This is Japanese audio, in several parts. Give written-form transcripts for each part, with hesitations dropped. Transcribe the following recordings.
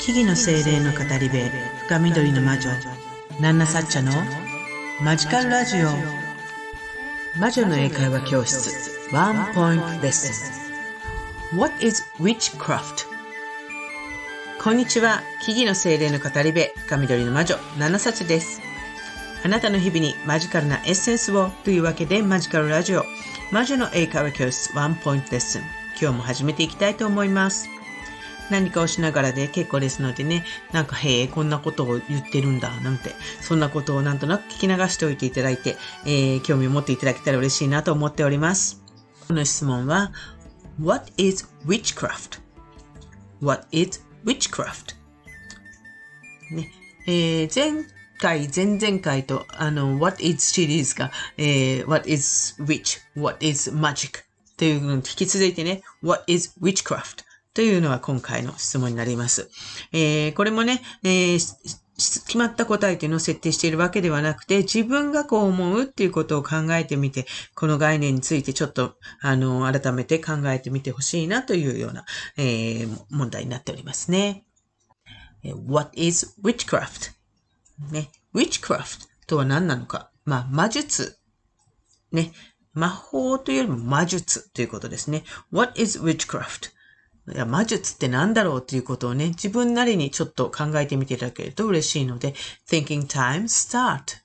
木々の精霊の語り部、深緑の魔女、ナンナサッチャのマジカルラジオ。魔女の英会話教室、ワンポイントレッスン。What is witchcraft? こんにちは、木々の精霊の語り部、深緑の魔女、ナンナサッチャです。あなたの日々にマジカルなエッセンスをというわけで、マジカルラジオ、魔女の英会話教室、ワンポイントレッスン。今日も始めていきたいと思います。何かをしながらで結構ですのでね、なんかへえ、こんなことを言ってるんだ、なんて、そんなことをなんとなく聞き流しておいていただいて、興味を持っていただけたら嬉しいなと思っております。この質問は、What is witchcraft? What is witchcraft? ね、前々回と、What is シリーズが、What is witch? What is magic? というのに引き続いてね、What is witchcraft?というのは今回の質問になります。これもね、決まった答えというのを設定しているわけではなくて、自分がこう思うっていうことを考えてみて、この概念についてちょっと、改めて考えてみてほしいなというような、問題になっておりますね。What is witchcraft? ね、witchcraft とは何なのか。魔術。ね、魔法というよりも魔術ということですね。What is witchcraft?いや、魔術って何だろうということをね、自分なりにちょっと考えてみていただけると嬉しいので、Thinking time start!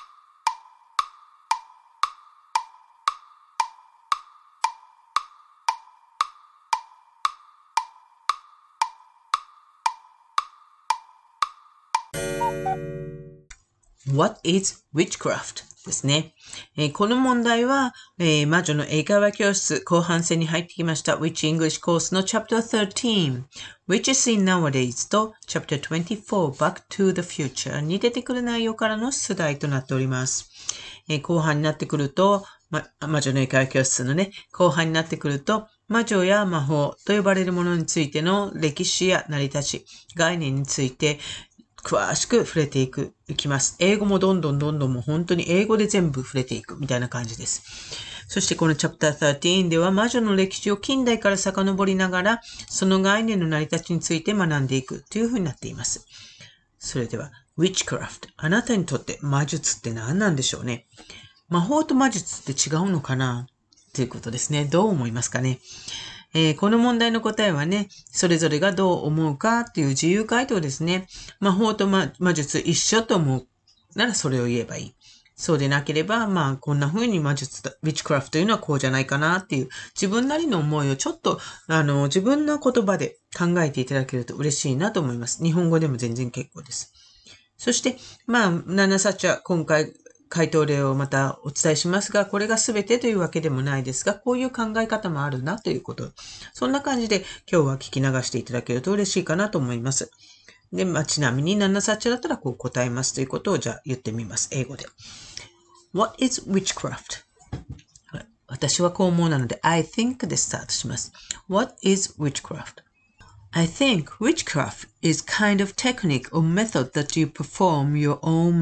What is witchcraft? ですね。この問題は、魔女の英会話教室後半戦に入ってきました Which English コースの Chapter 13 Which is seen nowadays と Chapter 24 Back to the Future に出てくる内容からの出題となっております。後半になってくると、魔女の英会話教室のね、後半になってくると、魔女や魔法と呼ばれるものについての歴史や成り立ち、概念について、詳しく触れていきます。英語もどんどんもう本当に英語で全部触れていくみたいな感じです。そしてこのチャプター13では魔女の歴史を近代から遡りながら、その概念の成り立ちについて学んでいくというふうになっています。それでは、witchcraft。あなたにとって魔術って何なんでしょうね。魔法と魔術って違うのかなということですね。どう思いますかね。この問題の答えはね、それぞれがどう思うかっていう自由回答ですね。魔法と魔術一緒と思うならそれを言えばいい。そうでなければ、こんな風に魔術、ウィッチクラフトというのはこうじゃないかなっていう自分なりの思いをちょっと、自分の言葉で考えていただけると嬉しいなと思います。日本語でも全然結構です。そして、ナナサッチャ、今回、回答例をまたお伝えしますが、これが全てというわけでもないですが、こういう考え方もあるなということ。そんな感じで今日は聞き流していただけると嬉しいかなと思います。で、ちなみにナナサッチャだったらこう答えますということをじゃあ言ってみます。英語で。What is witchcraft? 私はこう思うなので I think でスタートします。What is witchcraft? I think witchcraft is kind of technique or method that you perform your own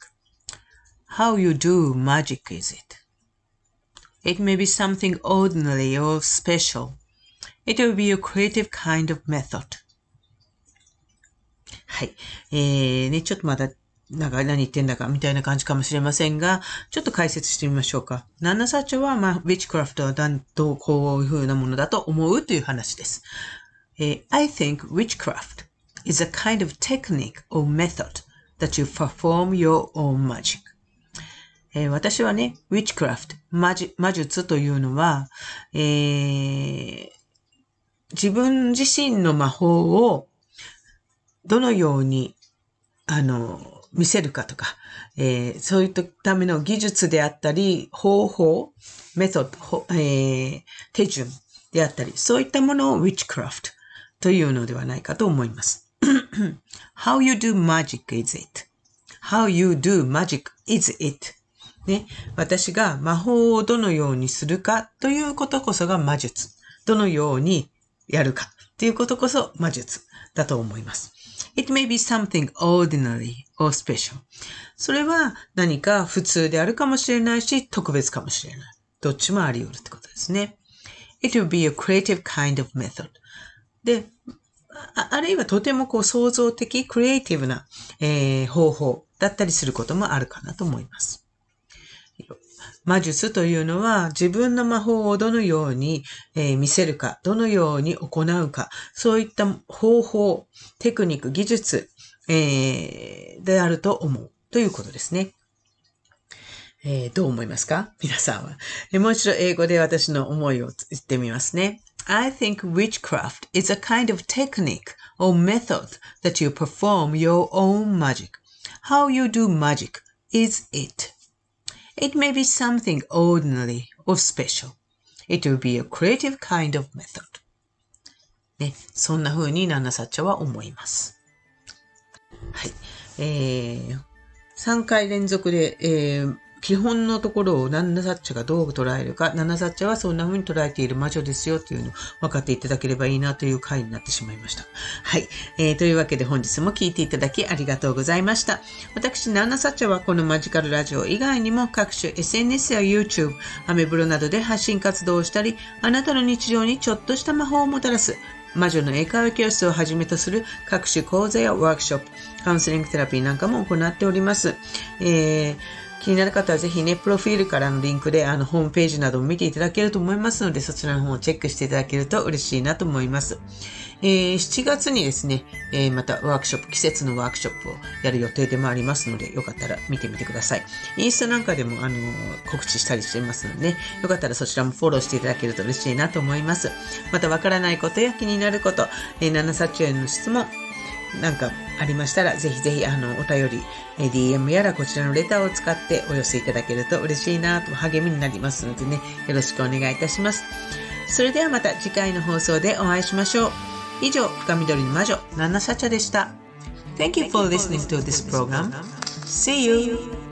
magic.How you do magic is it? It may be something ordinary or special. It will be a creative kind of method. はい。ちょっとまだ何言ってんだかみたいな感じかもしれませんが、ちょっと解説してみましょうか。ナナサッチャは、witchcraft はどうこういう風なものだと思うという話です。I think witchcraft is a kind of technique or method that you perform your own magic.私はね、witchcraft、魔術というのは、自分自身の魔法をどのように、見せるかとか、そういったための技術であったり、方法、メソッド、手順であったり、そういったものを witchcraft というのではないかと思います。How you do magic is it? How you do magic is it?ね、私が魔法をどのようにするかということこそが魔術。どのようにやるかということこそ魔術だと思います。It may be something ordinary or special. それは何か普通であるかもしれないし、特別かもしれない。どっちもあり得るってことですね。It will be a creative kind of method. で、 あるいはとても創造的、クリエイティブな、方法だったりすることもあるかなと思います。魔術というのは自分の魔法をどのように、見せるか、どのように行うか、そういった方法、テクニック、技術、であると思うということですね。どう思いますか皆さんは。もう一度英語で私の思いを言ってみますね。I think witchcraft is a kind of technique or method that you perform your own magic. How you do magic is it. It may be something ordinary or special. It will be a creative kind of method. ね、そんな風にナナサッチャは思います。はい。3回連続で、基本のところをナナサッチャがどう捉えるか、ナナサッチャはそんな風に捉えている魔女ですよというのを分かっていただければいいなという回になってしまいました。はい。というわけで本日も聞いていただきありがとうございました。私、ナナサッチャはこのマジカルラジオ以外にも各種 SNS や YouTube、アメブロなどで発信活動をしたり、あなたの日常にちょっとした魔法をもたらす魔女の英会話教室をはじめとする各種講座やワークショップ、カウンセリングテラピーなんかも行っております。気になる方はぜひね、プロフィールからのリンクでホームページなども見ていただけると思いますので、そちらの方をチェックしていただけると嬉しいなと思います。7月にですね、またワークショップ、季節のワークショップをやる予定でもありますので、よかったら見てみてください。インスタなんかでも告知したりしていますのでね、よかったらそちらもフォローしていただけると嬉しいなと思います。またわからないことや気になること、ナナサッチョへの質問、なんかありましたら、ぜひぜひお便り、DM やらこちらのレターを使ってお寄せいただけると嬉しいなと励みになりますのでね、よろしくお願いいたします。それではまた次回の放送でお会いしましょう。以上、深緑の魔女、ナナサチャでした。Thank you for listening to this program. See you!